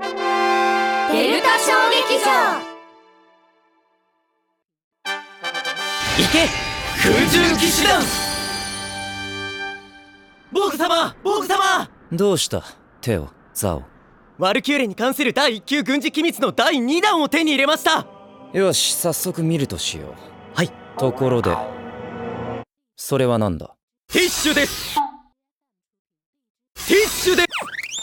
デルタ小劇場。 行け空中騎士団。ボーグ様、ボーグ様。 どうしたテオ、ザオ。 ワルキューレに関する第1級軍事機密の第2弾を手に入れました。 よし、早速見るとしよう。 はい。 ところでそれは何だ？ ティッシュです。ティッシュです。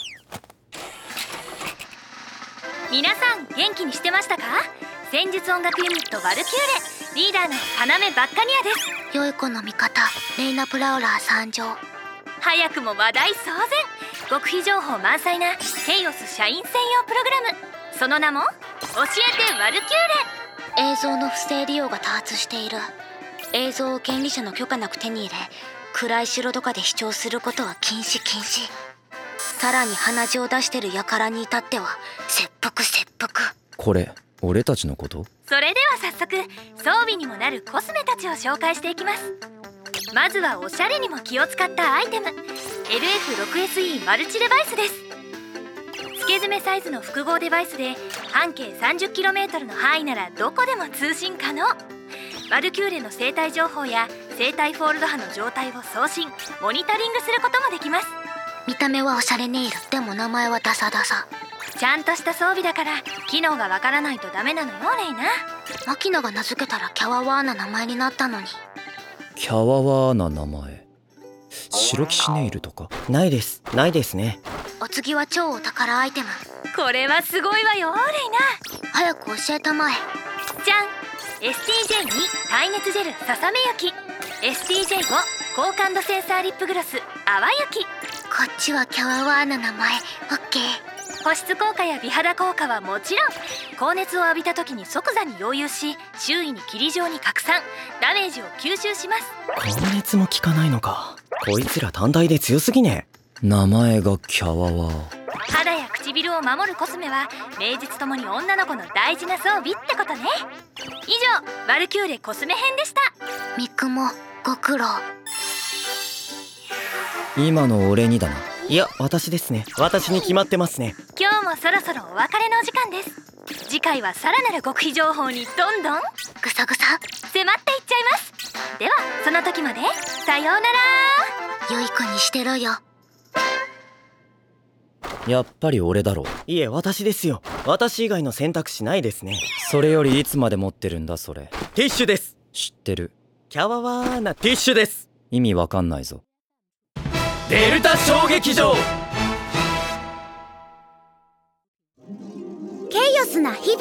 皆さん元気にしてましたか？戦術音楽ユニットワルキューレリーダーの要バッカニアです。 良い子の味方レイナ・プラウラー参上。 早くも話題騒然、極秘情報満載なケイオス社員専用プログラム、その名も教えてワルキューレ。 映像の不正利用が多発している。映像を権利者の許可なく手に入れ、暗い城とかで視聴することは禁止。さらに鼻血を出してる輩に至っては切腹。 これ俺たちのこと？ それでは早速装備にもなるコスメたちを紹介していきます。まずはおしゃれにも気を使ったアイテム LF6SE マルチデバイスです。付け詰めサイズの複合デバイスで半径 30km の範囲ならどこでも通信可能。ワルキューレの生態情報や生態フォールド波の状態を送信モニタリングすることもできます。 見た目はおしゃれネイル、でも名前はダサ。 ちゃんとした装備だから機能がわからないとダメなのよレイナ。 マキナが名付けたらキャワワーな名前になったのに。 キャワワーな名前。白騎士ネイルとか？ ないですね。 お次は超お宝アイテム。 これはすごいわよレイナ。 早く教えたまえ。 じゃん、 STJ2 耐熱ジェルささめ雪、 STJ5 高感度センサーリップグロス淡雪。 こっちはキャワワーな名前。オッケー。 保湿効果や美肌効果はもちろん、高熱を浴びた時に即座に溶融し周囲に霧状に拡散、ダメージを吸収します。 高熱も効かないのか。こいつら単体で強すぎね。 名前がキャワワー。 肌や唇を守るコスメは名実ともに女の子の大事な装備ってことね。以上ワルキューレコスメ編でした。 ミクもご苦労。 今の俺にだな。 いや私ですね。私に決まってますね。 今日もそろそろお別れのお時間です。次回はさらなる極秘情報にどんどんぐさぐさ迫っていっちゃいます。ではその時までさようなら。 良い子にしてろよ。 やっぱり俺だろう。 いえ私ですよ。私以外の選択肢ないですね。 それよりいつまで持ってるんだそれ。 ティッシュです。 知ってる。 キャワワーなティッシュです。 意味わかんないぞ。 デルタ小劇場。 ケイオスな日々。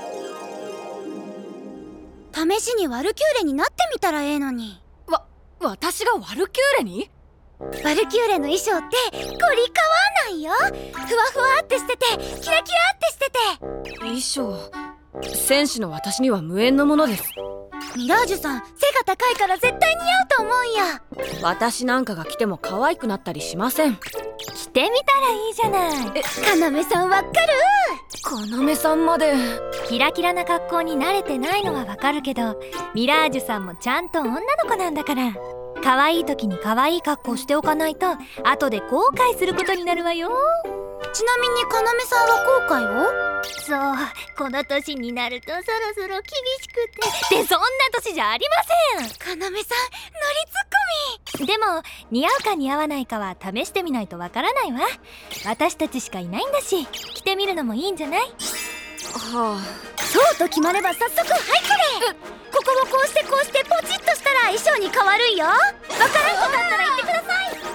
試しにワルキューレになってみたらええのに。 私がワルキューレに？ ワルキューレの衣装ってゴリかわないよ。ふわふわってしててキラキラってしてて。 衣装、戦士の私には無縁のものです。 ミラージュさん背が高いから絶対似合うと思うんや。 私なんかが着ても可愛くなったりしません。 着てみたらいいじゃない。 カナメさんわっかる？ カナメさんまで。 キラキラな格好に慣れてないのはわかるけど、ミラージュさんもちゃんと女の子なんだから、可愛い時に可愛い格好しておかないと後で後悔することになるわよ。 ちなみにカナメさんは後悔を？ そう、この年になるとそろそろ厳しくて。で、そんな年じゃありません。 カナメさんノリツッコミ。 でも似合うか似合わないかは試してみないとわからないわ。私たちしかいないんだし、着てみるのもいいんじゃない？ はあ。 そうと決まれば早速はいこれ。ここをこうしてこうしてポチッとしたら衣装に変わるんよ。わからんことあったら言ってください。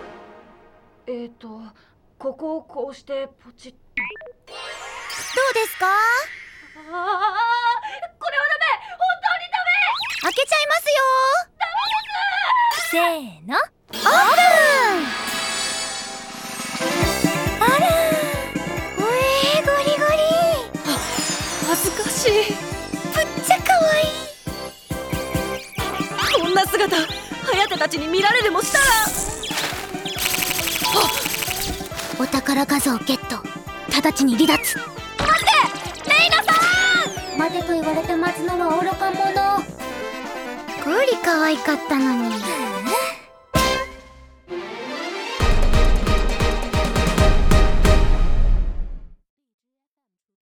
ここをこうしてポチッ。 どうですか？ これはダメ。本当にダメ。 開けちゃいますよ。 せーの、 オープン。あらー、ゴリゴリ。 恥ずかしい。 ぶっちゃかわいい。 こんな姿颯たちに見られでもしたら。 お宝画像ゲット。直ちに離脱。 待ってレイナさん。 待てと言われて待つのは愚か者。 ゴリ可愛かったのに。